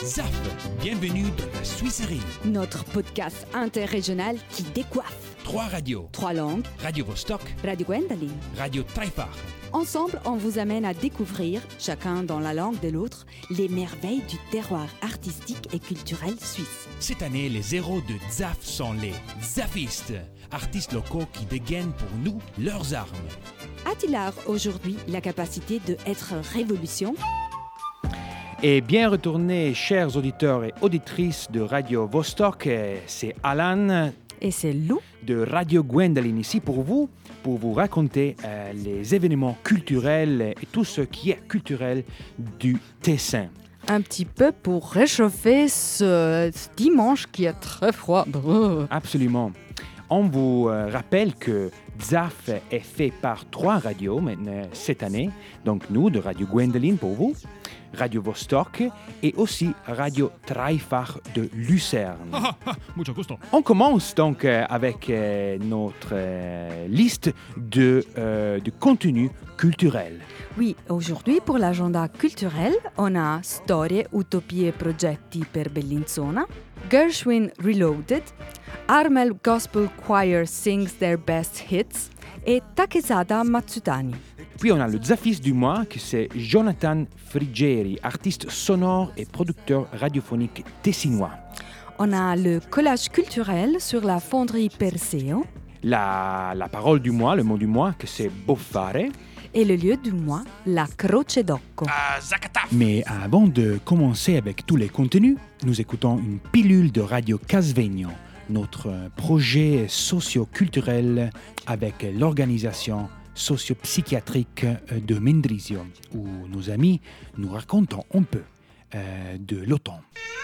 ZAF, bienvenue dans la Suisserie. Notre podcast interrégional qui décoiffe. 3 radios. 3 langues. Radio Vostok, Radio Gwendoline. Radio Dreifach. Ensemble, on vous amène à découvrir, chacun dans la langue de l'autre, les merveilles du terroir artistique et culturel suisse. Cette année, les héros de ZAF sont les Zafistes, artistes locaux qui dégainent pour nous leurs armes. A-t-il art aujourd'hui la capacité d'être révolution? Et bien retourné, chers auditeurs et auditrices de Radio Vostok, c'est Alan Et c'est Lou de Radio Gwendoline ici pour vous raconter les événements culturels et tout ce qui est culturel du Tessin. Un petit peu pour réchauffer ce dimanche qui est très froid. Absolument. On vous rappelle que ZAF est fait par 3 radios maintenant cette année. Donc nous, de Radio Gwendoline pour vous, Radio Vostok et aussi Radio Dreifach de Lucerne. Mucho gusto. On commence donc avec notre liste de contenus culturels. Oui, aujourd'hui pour l'agenda culturel, on a Storie, utopie e progetti per Bellinzona, Gershwin Reloaded, Armel Gospel Choir sings their best hits et Takezada Matsutani. Puis on a le Zafiste du mois, que c'est Jonathan Frigeri, artiste sonore et producteur radiophonique tessinois. On a le collage culturel sur la fonderie Perseo. La parole du mois, le mot du mois, que c'est Boffare. Et le lieu du mois, la Croce d'Occo. Mais avant de commencer avec tous les contenus, nous écoutons une pilule de Radio Casvegno, notre projet socio-culturel avec l'organisation socio-psychiatrique de Mendrisio, où nos amis nous racontent un peu de l'automne.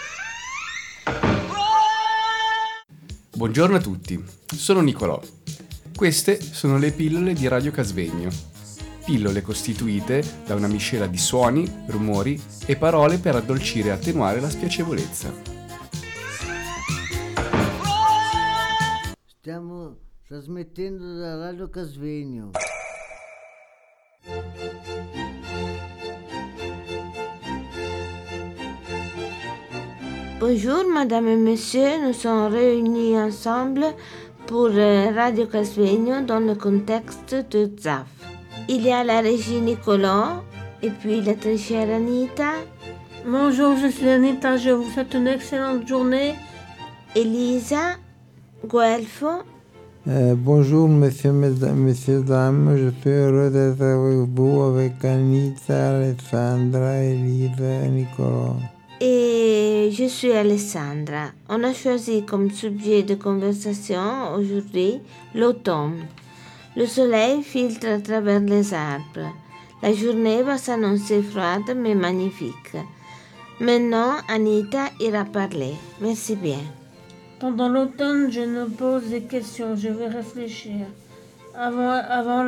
Buongiorno a tutti, sono Nicolò. Queste sono le pillole di Radio Casvegno. Pillole costituite da una miscela di suoni, rumori e parole per addolcire e attenuare la spiacevolezza. Stiamo trasmettendo da Radio Casvegno. Bonjour madame et monsieur, nous sommes réunis ensemble pour Radio Casvegno dans le contexte de ZAF. Il y a la régie Nicolas et puis la très chère Anita. Bonjour, je suis Anita, je vous souhaite une excellente journée. Elisa, Guelfo. Bonjour messieurs, messieurs, dames, je suis heureux d'être avec vous, avec Anita, Alessandra, Elisa et Nicolas. Et je suis Alessandra. On a choisi comme sujet de conversation aujourd'hui l'automne. Le soleil filtre à travers les arbres. La journée va s'annoncer froide mais magnifique. Maintenant, Anita ira parler. Merci bien. Pendant l'automne, je me pose des questions, je vais réfléchir. Avant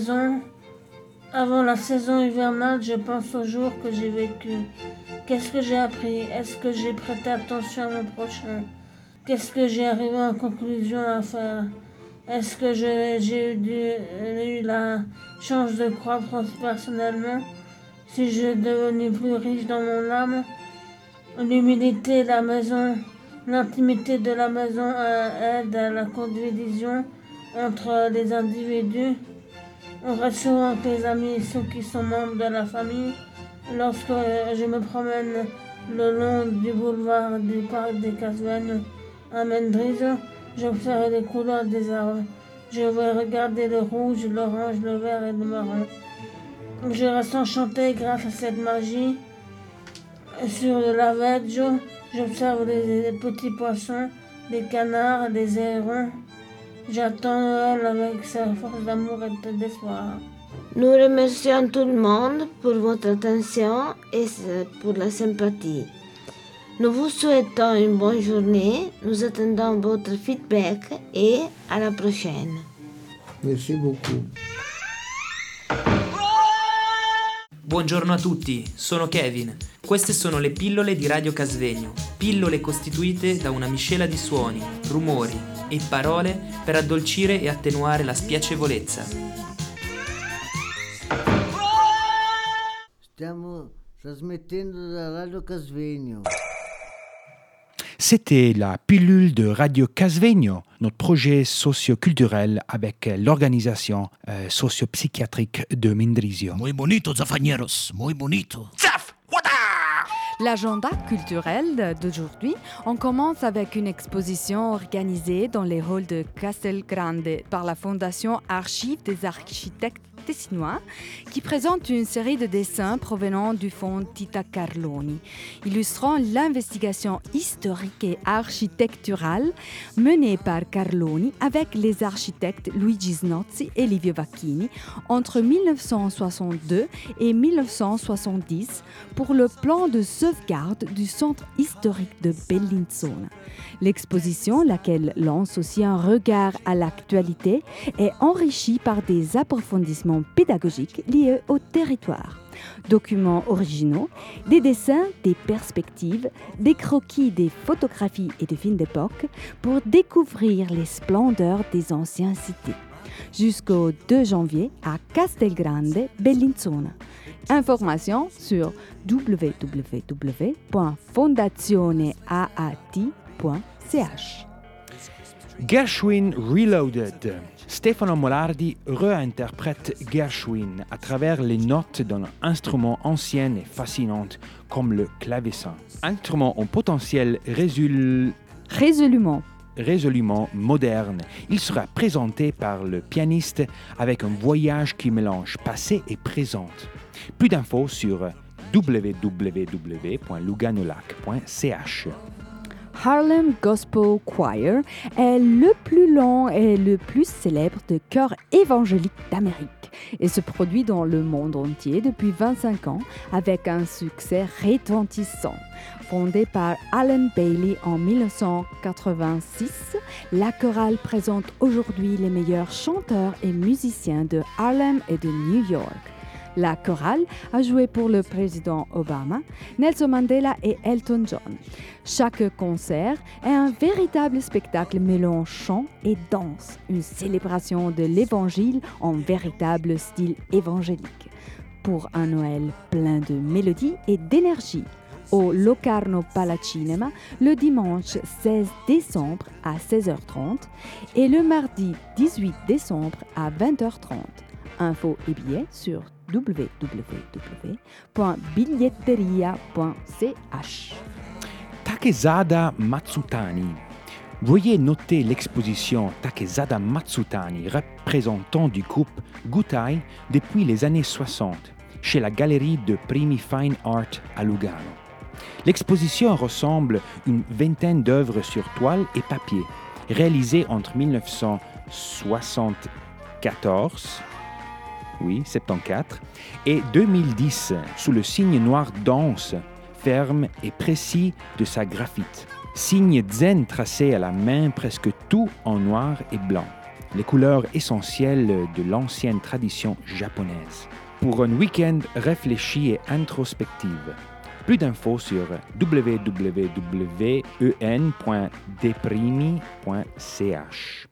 la saison hivernale, je pense aux jours que j'ai vécus. Qu'est-ce que j'ai appris? Est-ce que j'ai prêté attention à mon prochain? Qu'est-ce que j'ai arrivé en conclusion à faire? Est-ce que j'ai eu la chance de croître personnellement? Si je devenu plus riche dans mon âme? L'humilité, l'intimité de la maison aide à la condivision entre les individus. On reste souvent avec les amis, ceux qui sont membres de la famille. Lorsque je me promène le long du boulevard du parc des Casvegno à Mendrisio, j'observe les couleurs des arbres. Je vais regarder le rouge, l'orange, le vert et le marron. Je reste enchanté grâce à cette magie. Sur le laveggio, j'observe les petits poissons, les canards, les hérons. J'attends Noël avec sa force d'amour et d'espoir. Nous remercions tout le monde pour votre attention et pour la sympathie. Nous vous souhaitons une bonne journée, nous attendons votre feedback et à la prochaine. Merci beaucoup. Buongiorno a tutti, sono Kevin. Queste sono le pillole di Radio Casvegno, pillole costituite da una miscela di suoni, rumori e parole per addolcire e attenuare la spiacevolezza. Stiamo trasmettendo da Radio Casvegno. C'était la pilule de Radio Casvegno, notre projet socio-culturel avec l'organisation socio-psychiatrique de Mendrisio. Muy bonito, zafañeros, muy bonito. Zaf! L'agenda culturel d'aujourd'hui, on commence avec une exposition organisée dans les halls de Castelgrande par la Fondation Archives des architectes tessinois qui présente une série de dessins provenant du fonds Tita Carloni, illustrant l'investigation historique et architecturale menée par Carloni avec les architectes Luigi Snozzi et Livio Vacchini entre 1962 et 1970 pour le plan de sauvegarde du centre historique de Bellinzona. L'exposition, laquelle lance aussi un regard à l'actualité, est enrichie par des approfondissements pédagogiques liés au territoire. Documents originaux, des dessins, des perspectives, des croquis, des photographies et des films d'époque pour découvrir les splendeurs des anciennes cités. Jusqu'au 2 janvier à Castelgrande, Bellinzona. Informations sur www.fondazioneaat.ch. Gershwin Reloaded. Stefano Molardi réinterprète Gershwin à travers les notes d'un instrument ancien et fascinant comme le clavecin. Instrument en potentiel résolument moderne. Il sera présenté par le pianiste avec un voyage qui mélange passé et présent. Plus d'infos sur www.luganolac.ch. Harlem Gospel Choir est le plus long et le plus célèbre de chœurs évangéliques d'Amérique et se produit dans le monde entier depuis 25 ans avec un succès retentissant. Fondée par Alan Bailey en 1986, la chorale présente aujourd'hui les meilleurs chanteurs et musiciens de Harlem et de New York. La chorale a joué pour le président Obama, Nelson Mandela et Elton John. Chaque concert est un véritable spectacle mêlant chant et danse, une célébration de l'Évangile en véritable style évangélique. Pour un Noël plein de mélodies et d'énergie, au Locarno Palacinema le dimanche 16 décembre à 16h30 et le mardi 18 décembre à 20h30. Infos et billets sur www.biglietteria.ch. Takezada Matsutani. Veuillez noter l'exposition Takezada Matsutani, représentant du groupe Gutai depuis les années 60, chez la Galerie de Primi Fine Art à Lugano. L'exposition ressemble une vingtaine d'œuvres sur toile et papier, réalisées entre 1974 et 2010, sous le signe noir dense, ferme et précis de sa graphite. Signe zen tracé à la main, presque tout en noir et blanc. Les couleurs essentielles de l'ancienne tradition japonaise. Pour un week-end réfléchi et introspectif. Plus d'infos sur www.en.deprimi.ch.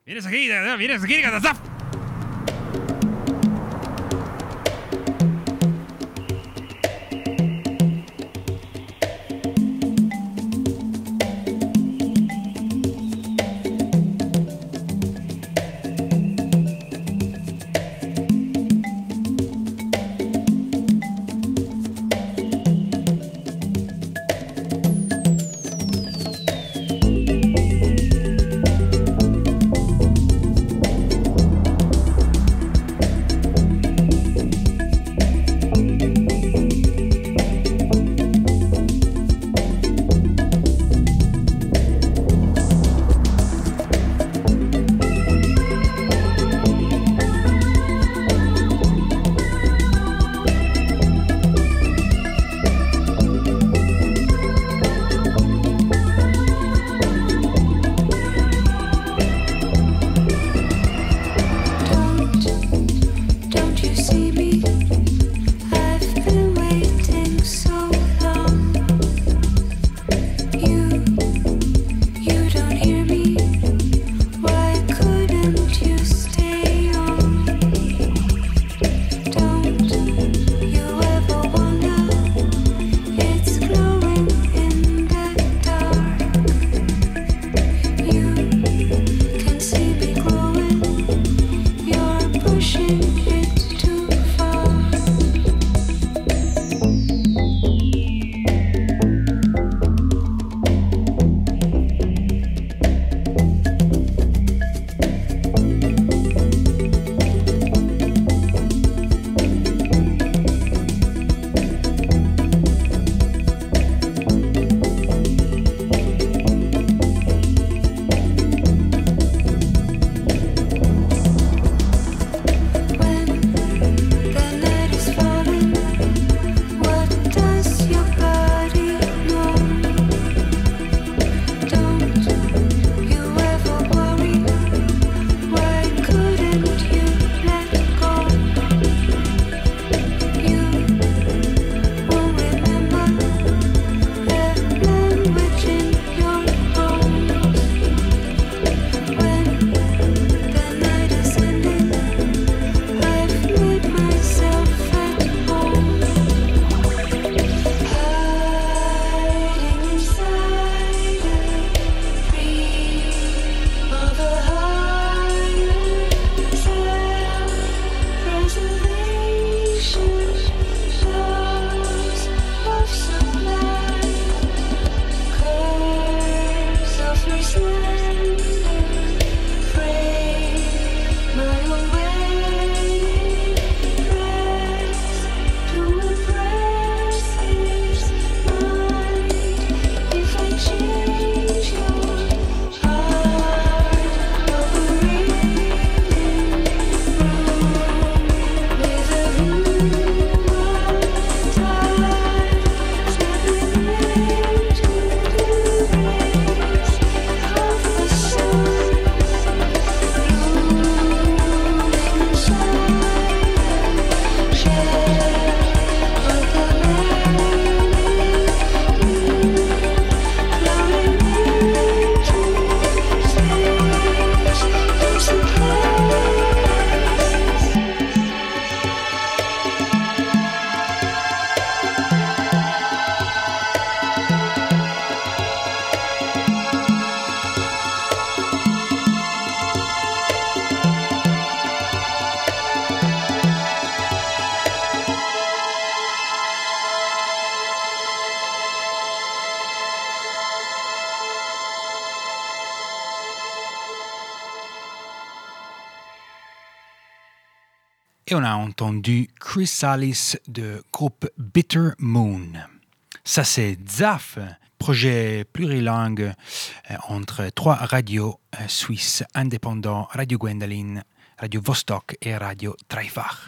Et on a entendu Chrysalis de groupe Bitter Moon. Ça c'est Zaf, projet plurilingue entre 3 radios suisses indépendants, Radio Gwendoline, Radio Vostok et Radio Dreifach.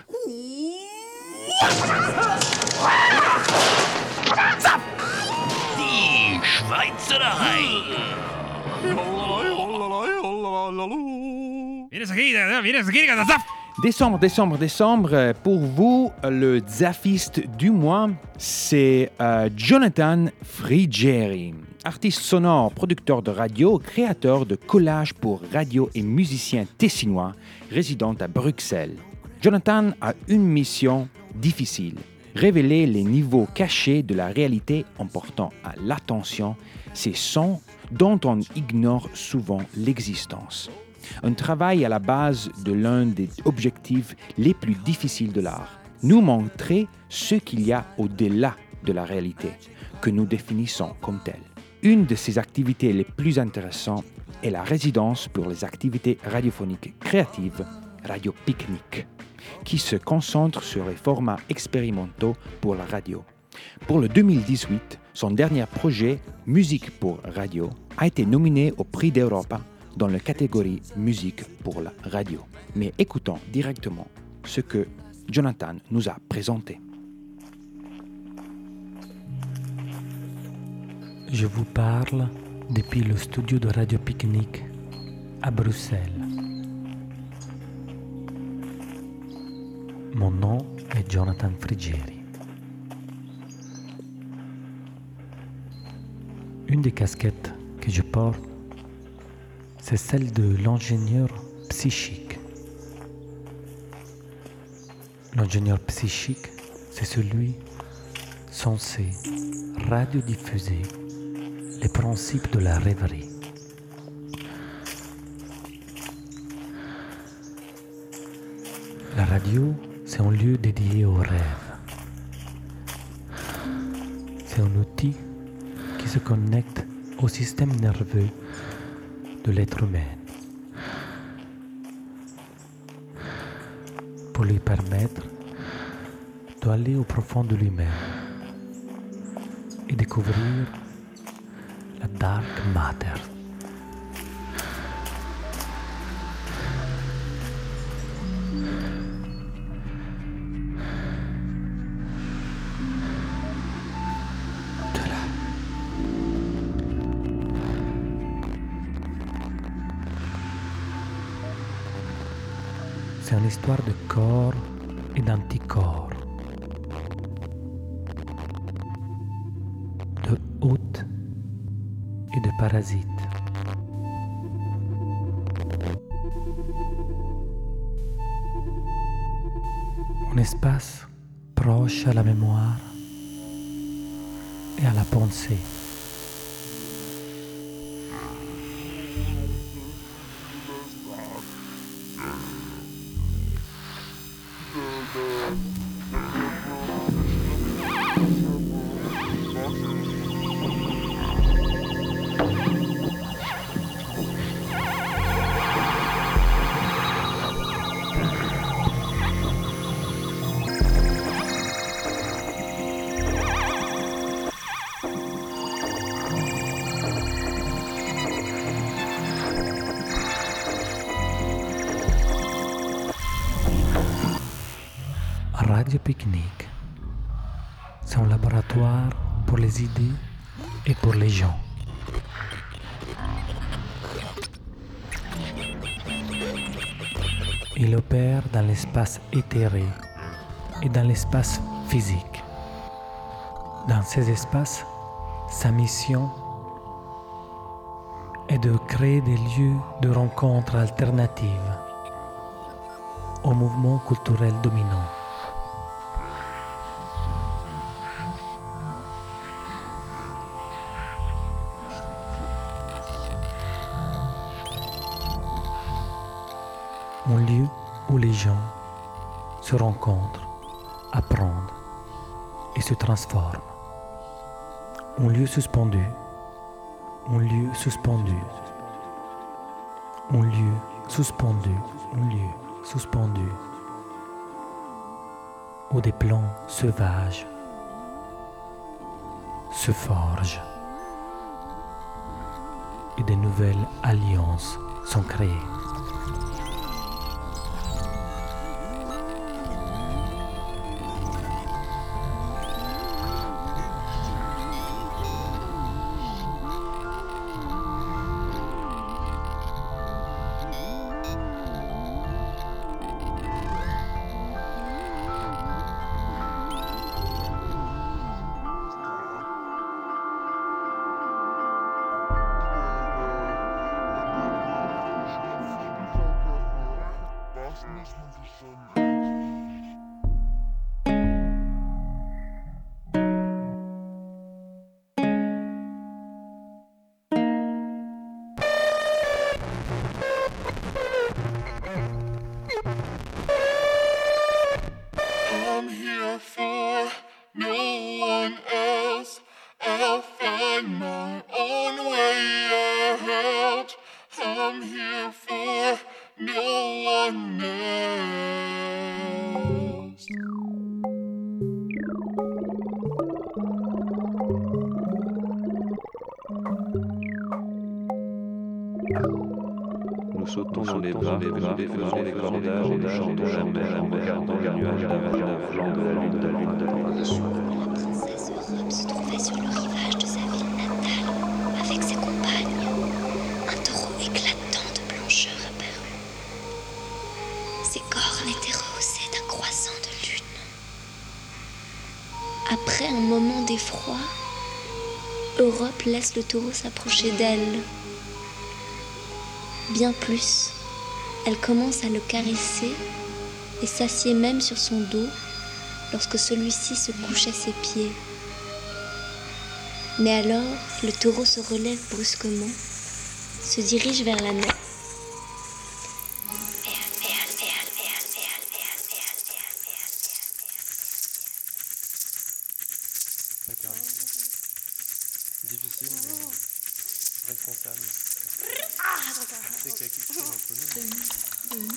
Zap! Die Schweizerei! Décembre. Pour vous, le Zafiste du mois, c'est Jonathan Frigeri, artiste sonore, producteur de radio, créateur de collages pour radio et musicien tessinois, résident à Bruxelles. Jonathan a une mission difficile, révéler les niveaux cachés de la réalité en portant à l'attention ces sons dont on ignore souvent l'existence. Un travail à la base de l'un des objectifs les plus difficiles de l'art, nous montrer ce qu'il y a au-delà de la réalité, que nous définissons comme telle. Une de ses activités les plus intéressantes est la résidence pour les activités radiophoniques créatives, Radio Picnic, qui se concentre sur les formats expérimentaux pour la radio. Pour le 2018, son dernier projet, Musique pour radio, a été nominé au Prix d'Europa dans la catégorie Musique pour la radio. Mais écoutons directement ce que Jonathan nous a présenté. Je vous parle depuis le studio de Radio Picnic à Bruxelles. Mon nom est Jonathan Frigeri. Une des casquettes que je porte, c'est celle de l'ingénieur psychique. L'ingénieur psychique, c'est celui censé radiodiffuser les principes de la rêverie. La radio, c'est un lieu dédié aux rêves. C'est un outil qui se connecte au système nerveux de l'être humain pour lui permettre d'aller au profond de lui-même et découvrir la dark matter. C'est une histoire de corps et d'anticorps, de hôtes et de parasites. Un espace proche à la mémoire et à la pensée. Radio Picnic, c'est un laboratoire pour les idées et pour les gens. Il opère dans l'espace éthéré et dans l'espace physique. Dans ces espaces, sa mission est de créer des lieux de rencontres alternatives au mouvement culturel dominant. Un lieu où les gens se rencontrent, apprennent et se transforment. Un lieu suspendu, un lieu suspendu, un lieu suspendu, un lieu suspendu. où des plans sauvages se forgent et de nouvelles alliances sont créées. I'm here for no one else. I'll find my own way out. I'm here for no one else. Nous sautons dans les bras, faisons les cordages et chantons la mer en regardant les nuages d'argent au flanc de la lune de dessus. La princesse Europe se trouvait sur le rivage de sa ville natale avec ses compagnes. Un taureau éclatant de blancheur apparut. Ses cornes étaient rehaussées d'un croissant de lune. Après un moment d'effroi, Europe laisse le taureau s'approcher d'elle. Bien plus, elle commence à le caresser et s'assied même sur son dos lorsque celui-ci se couche à ses pieds. Mais alors, le taureau se relève brusquement, se dirige vers la mer. Difficile, mais responsable. C'est quelqu'un qui est entre nous.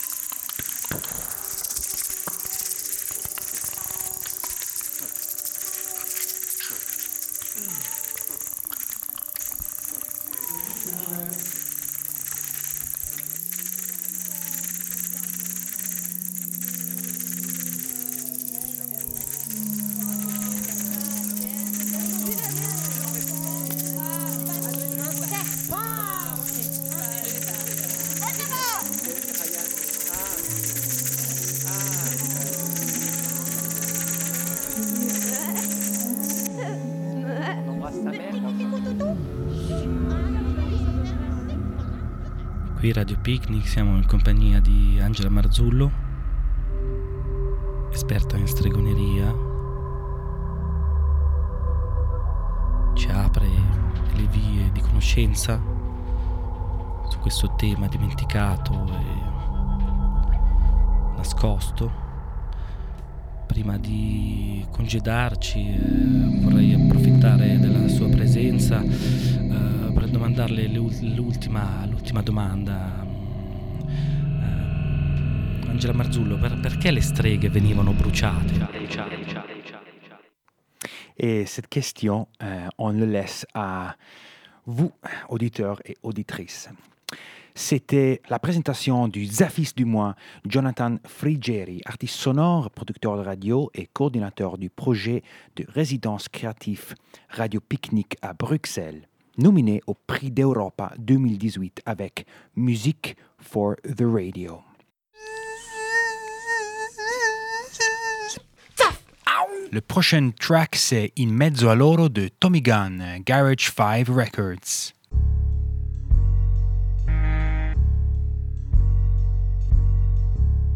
Qui Radio Picnic siamo in compagnia di Angela Marzullo, esperta in stregoneria. Ci apre le vie di conoscenza su questo tema dimenticato e nascosto. Prima di congedarci vorrei approfittare della sua presenza per domandarle l'ultima domanda. Angela Marzullo, perché le streghe venivano bruciate? Et cette question, on le laisse à vous, auditeurs et auditrices. C'était la présentation du Zafis du mois, Jonathan Frigeri, artiste sonore, producteur de radio et coordinateur du projet de résidence créative Radio Picnic à Bruxelles, nominé au Prix d'Europa 2018 avec Music for the Radio. Le prochain track, c'est In mezzo a loro de Tommy Gunn, Garage 5 Records.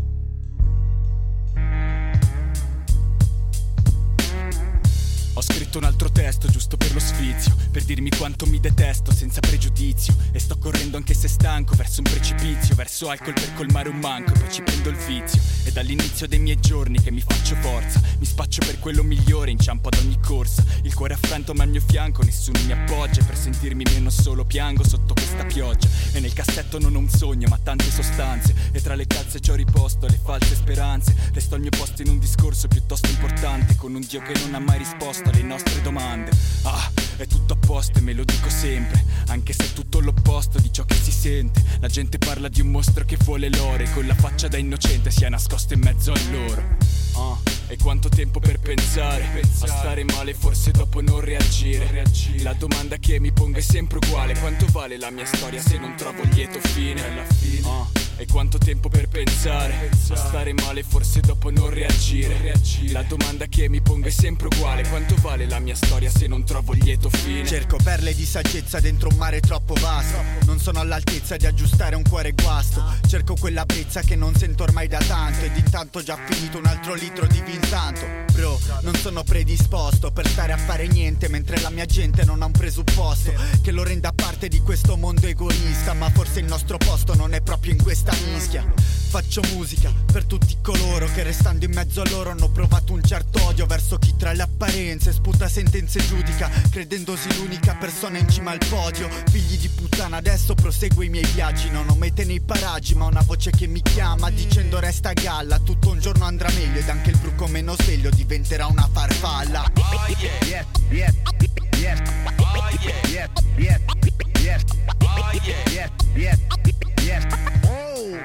Ho scritto scritto un altro testo giusto per lo sfizio, per dirmi quanto mi detesto senza pregiudizio. E sto correndo anche se stanco verso un precipizio, verso alcol per colmare un manco e poi ci prendo il vizio. È dall'inizio dei miei giorni che mi faccio forza, mi spaccio per quello migliore, inciampo ad ogni corsa. Il cuore affranto ma al mio fianco, nessuno mi appoggia, e per sentirmi meno solo piango sotto questa pioggia. E nel cassetto non ho un sogno ma tante sostanze, e tra le calze ci ho riposto le false speranze. Resto al mio posto in un discorso piuttosto importante, con un Dio che non ha mai risposto alle nostre domande. Ah, è tutto a posto e me lo dico sempre, anche se è tutto l'opposto di ciò che si sente. La gente parla di un mostro che vuole l'oro e con la faccia da innocente si è nascosto in mezzo a loro. E quanto tempo per pensare a stare male, forse dopo non reagire. La domanda che mi pongo è sempre uguale: quanto vale la mia storia se non trovo lieto fine? E quanto tempo per pensare a stare male, forse dopo non reagire. La domanda che mi pongo è sempre uguale: quanto vale la mia storia se non trovo lieto fine? Cerco perle di saggezza dentro un mare troppo vasto, non sono all'altezza di aggiustare un cuore guasto. Cerco quella brezza che non sento ormai da tanto, ed intanto ho già finito un altro litro di Vinsanto. Bro, non sono predisposto per stare a fare niente mentre la mia gente non ha un presupposto che lo renda parte di questo mondo egoista. Ma forse il nostro posto non è proprio in questa mischia. Faccio musica per tutti coloro che restando in mezzo a loro hanno provato un certo odio verso chi tra le apparenze sputa sentenze e giudica, credendosi l'unica persona in cima al podio. Figli di puttana, adesso proseguo i miei viaggi, non ho mete nei paraggi ma una voce che mi chiama dicendo resta a galla, tutto un giorno andrà meglio ed anche il bruco meno sveglio diventerà una farfalla. Oh yeah, yeah, yeah, oh yeah, yeah, yeah, yeah, oh yeah, yeah, yeah, yeah, oh.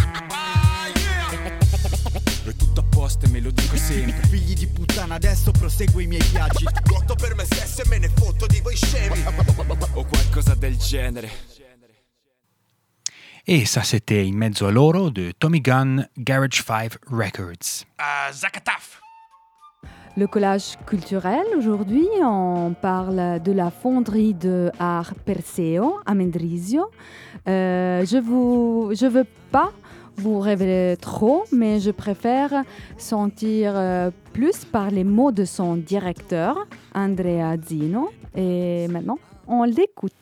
È tutto a posto e me lo dico sempre. Figli di puttana, adesso proseguo i miei viaggi. Lotto per me stesso e me ne fotto di voi scemi. O qualcosa del genere. Et ça, c'était In mezzo a loro de Tommy Gunn, Garage 5 Records. Zakataf! Le collage culturel, aujourd'hui, on parle de la fonderie de art Perseo à Mendrisio. Je veux pas vous révéler trop, mais je préfère sentir plus par les mots de son directeur, Andrea Zino. Et maintenant, on l'écoute.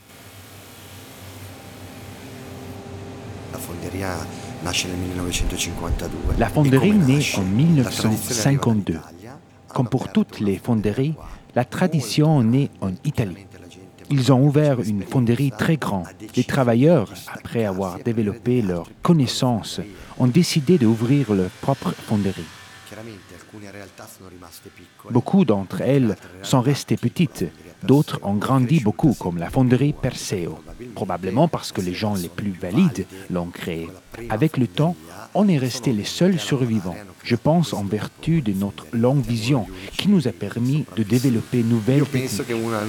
La fonderia nasce nel 1952. La fonderie naît en 1952. Comme pour toutes les fonderies, la tradition naît en Italie. Ils ont ouvert une fonderie très grande. Les travailleurs, après avoir développé leurs connaissances, ont décidé d'ouvrir leur propre fonderie. Beaucoup d'entre elles sont restées petites, d'autres ont grandi beaucoup, comme la fonderie Perseo, probablement parce que les gens les plus valides l'ont créée. Avec le temps, on est resté les seuls survivants. Je pense en vertu de notre longue vision qui nous a permis de développer nouvelles techniques.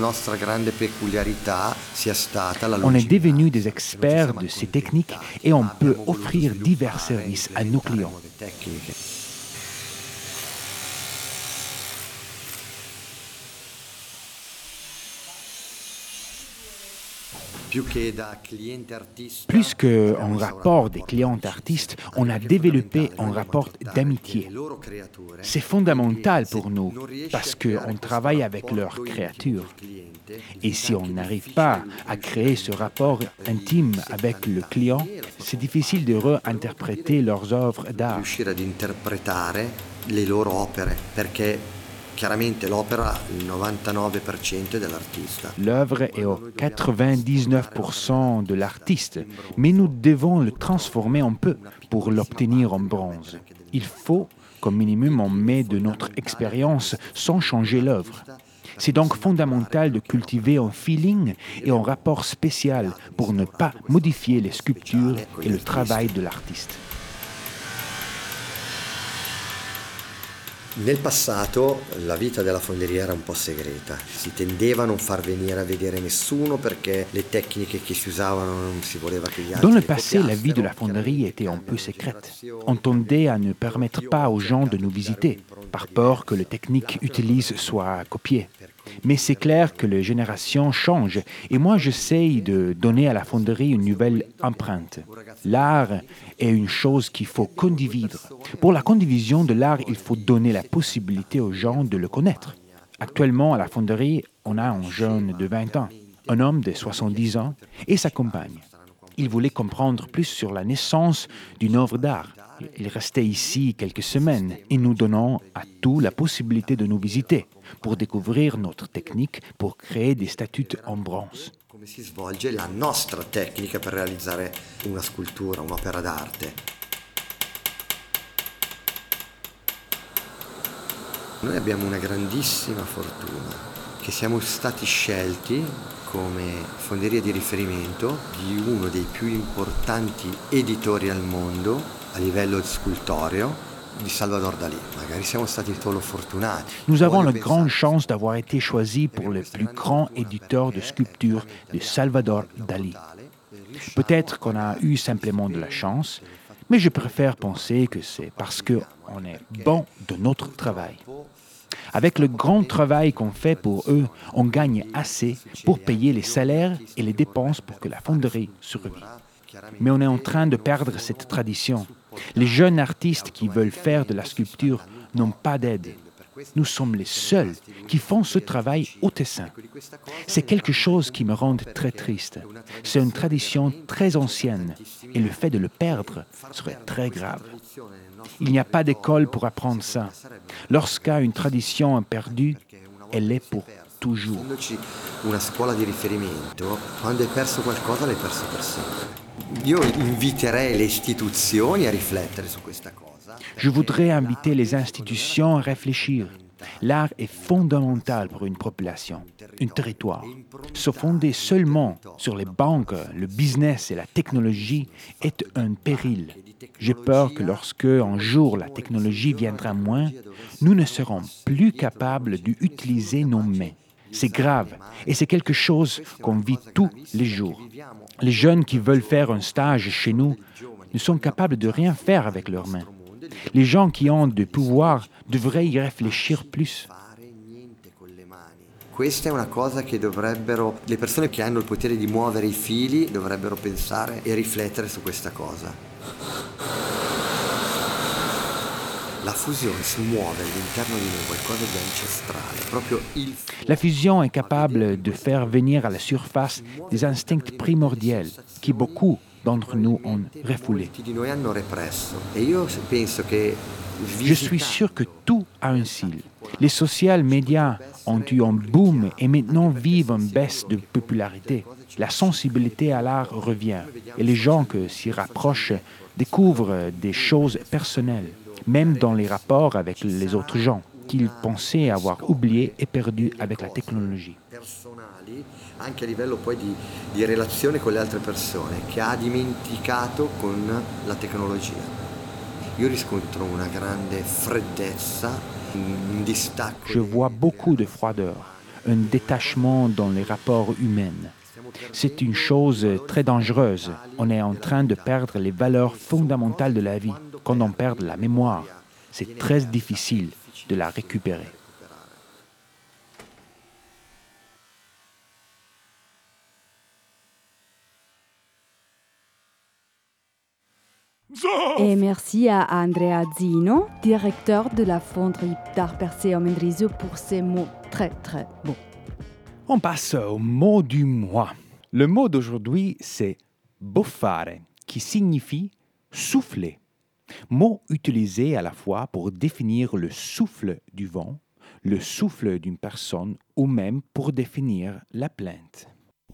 On est devenus des experts de ces techniques et on peut offrir divers services à nos clients. Plus qu'un rapport des clients-artistes, on a développé un rapport d'amitié. C'est fondamental pour nous parce qu'on travaille avec leurs créatures. Et si on n'arrive pas à créer ce rapport intime avec le client, c'est difficile de réinterpréter leurs œuvres d'art. Chiaramente l'opera il 99% dell'artista. L'œuvre est au 99% de l'artiste, mais nous devons le transformer un peu pour l'obtenir en bronze. Il faut qu'au minimum on met de notre expérience sans changer l'œuvre. C'est donc fondamental de cultiver un feeling et un rapport spécial pour ne pas modifier les sculptures et le travail de l'artiste. Nel passato la vita della fonderia era un po' segreta, si tendeva a non far venire a vedere nessuno perché le tecniche che si usavano non si voleva che gli altri. Dans le passé, la vie de la fonderie était un peu secrète. On tendait à ne permettre pas aux gens de nous visiter, par peur que les techniques utilisées soient copiées. Mais c'est clair que les générations changent et moi j'essaye de donner à la fonderie une nouvelle empreinte. L'art est une chose qu'il faut condividre. Pour la condivision de l'art, il faut donner la possibilité aux gens de le connaître. Actuellement, à la fonderie, on a un jeune de 20 ans, un homme de 70 ans et sa compagne. Ils voulaient comprendre plus sur la naissance d'une œuvre d'art. Ils restaient ici quelques semaines et nous donnons à tous la possibilité de nous visiter pour découvrir notre technique pour créer des statues en bronze. Come si svolge la nostra tecnica per realizzare una scultura, un'opera d'arte. Noi abbiamo una grandissima fortuna, che siamo stati scelti come fonderia di riferimento di uno dei più importanti editori al mondo a livello scultoreo, di Salvador Dalí. Magari siamo stati solo fortunati. Nous avons la grande chance d'avoir été choisis pour le plus grand éditeur de sculpture de Salvador Dalí. Peut-être qu'on a eu simplement de la chance, mais je préfère penser que c'est parce qu'on est bon de notre travail. Avec le grand travail qu'on fait pour eux, on gagne assez pour payer les salaires et les dépenses pour que la fonderie survive. Mais on est en train de perdre cette tradition. Les jeunes artistes qui veulent faire de la sculpture n'ont pas d'aide. Nous sommes les seuls qui font ce travail au Tessin. C'est quelque chose qui me rend très triste. C'est une tradition très ancienne et le fait de le perdre serait très grave. Il n'y a pas d'école pour apprendre ça. Lorsqu'une tradition est perdue, elle l'est pour toujours. Una scuola di riferimento, quando hai perso qualcosa l'hai perso per sempre. Io inviterei le istituzioni a riflettere su questa cosa. Je voudrais inviter les institutions à réfléchir. L'art est fondamental pour une population, un territoire. Se fonder seulement sur les banques, le business et la technologie est un péril. J'ai peur que lorsque, un jour, la technologie viendra moins, nous ne serons plus capables d'utiliser nos mains. C'est grave et c'est quelque chose qu'on vit tous les jours. Les jeunes qui veulent faire un stage chez nous ne sont capables de rien faire avec leurs mains. Les gens qui ont du pouvoir devraient y réfléchir plus. Questa è una cosa che dovrebbero, le persone che hanno il potere di muovere i fili dovrebbero pensare e riflettere su questa cosa. La fusione smuove all'interno di noi qualcosa di ancestrale, proprio il... La fusion est capable de faire venir à la surface des instincts primordiels qui beaucoup d'entre nous ont refoulés. Je suis sûr que tout a un cycle. Les social médias ont eu un boom et maintenant vivent une baisse de popularité. La sensibilité à l'art revient et les gens qui s'y rapprochent découvrent des choses personnelles, même dans les rapports avec les autres gens, qu'ils pensaient avoir oubliés et perdus avec la technologie. Anche a livello poi di relazione con le altre persone, che ha dimenticato con la tecnologia. Io riscontro una grande freddezza, un distacco. Je vois beaucoup de froideur, un détachement dans les rapports humains. C'est une chose très dangereuse. On est en train de perdre les valeurs fondamentales de la vie. Quand on perd la mémoire, c'est très difficile de la récupérer. Et merci à Andrea Zino, directeur de la fonderie d'art percé au Mendrisio, pour ces mots très très beaux. On passe au mot du mois. Le mot d'aujourd'hui, c'est boffare, qui signifie souffler. Mot utilisé à la fois pour définir le souffle du vent, le souffle d'une personne ou même pour définir la plainte.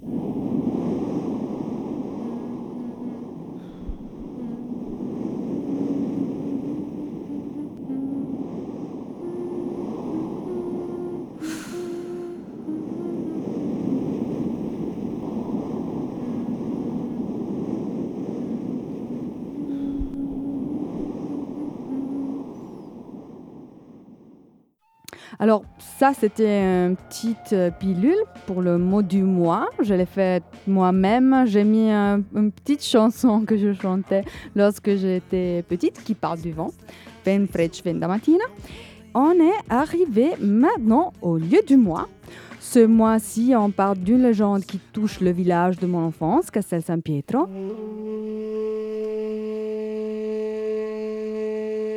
Alors ça, c'était une petite pilule pour le mot du mois. Je l'ai fait moi-même. J'ai mis une petite chanson que je chantais lorsque j'étais petite qui parle du vent. Ven frec ven da mattina. On est arrivé maintenant au lieu du mois. Ce mois-ci, on parle d'une légende qui touche le village de mon enfance, Castel San Pietro.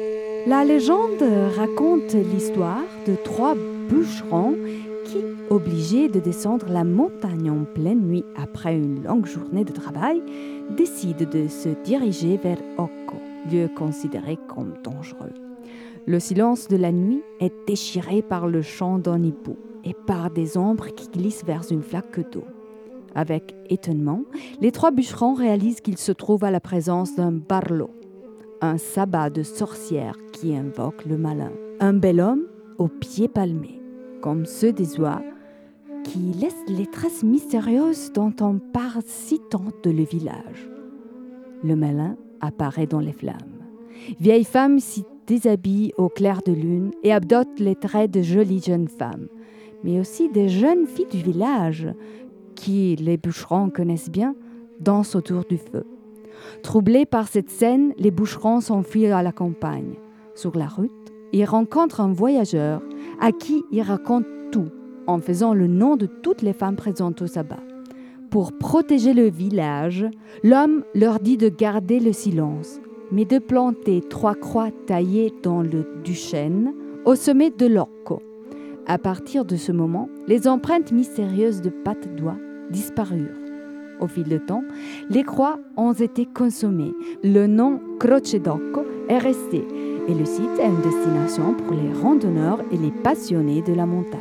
La légende raconte l'histoire de 3 bûcherons qui, obligés de descendre la montagne en pleine nuit après une longue journée de travail, décident de se diriger vers Occo, lieu considéré comme dangereux. Le silence de la nuit est déchiré par le chant d'un hibou et par des ombres qui glissent vers une flaque d'eau. Avec étonnement, les 3 bûcherons réalisent qu'ils se trouvent à la présence d'un barlo, un sabbat de sorcière qui invoque le malin, un bel homme aux pieds palmés, comme ceux des oies, qui laissent les traces mystérieuses dont on parle si tant de le village. Le malin apparaît dans les flammes. Vieille femme s'y déshabille au clair de lune et adopte les traits de jolies jeunes femmes, mais aussi des jeunes filles du village, qui, les bûcherons connaissent bien, dansent autour du feu. Troublés par cette scène, les bûcherons s'enfuient à la campagne. Sur la route, ils rencontrent un voyageur à qui ils racontent tout, en faisant le nom de toutes les femmes présentes au sabbat. Pour protéger le village, l'homme leur dit de garder le silence, mais de planter 3 croix taillées dans le du chêne au sommet de l'Occo. À partir de ce moment, les empreintes mystérieuses de pattes d'oie disparurent. Au fil du temps, les croix ont été consommées. Le nom Croce d'Occo est resté et le site est une destination pour les randonneurs et les passionnés de la montagne.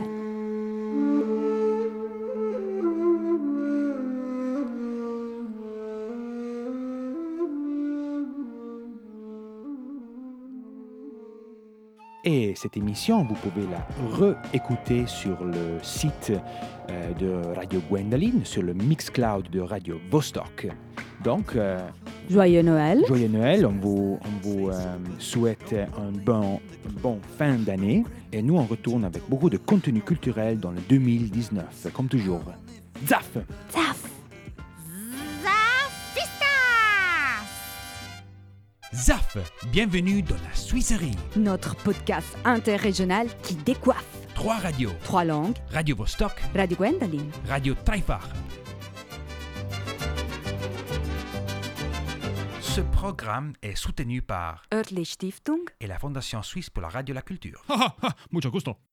Et cette émission, vous pouvez la réécouter sur le site de Radio Gwendoline, sur le Mixcloud de Radio Vostok. Donc, Joyeux Noël. Joyeux Noël, on vous souhaite un bon fin d'année. Et nous, on retourne avec beaucoup de contenu culturel dans le 2019, comme toujours. Zaf! Zaf! Zaf! Bienvenue dans la Suisserie. Notre podcast interrégional qui décoiffe. 3 radios. 3 langues. Radio Vostok. Radio Gwendoline. Radio Dreifach. Ce programme est soutenu par Örtli Stiftung et la Fondation Suisse pour la Radio et la Culture. Mucho gusto.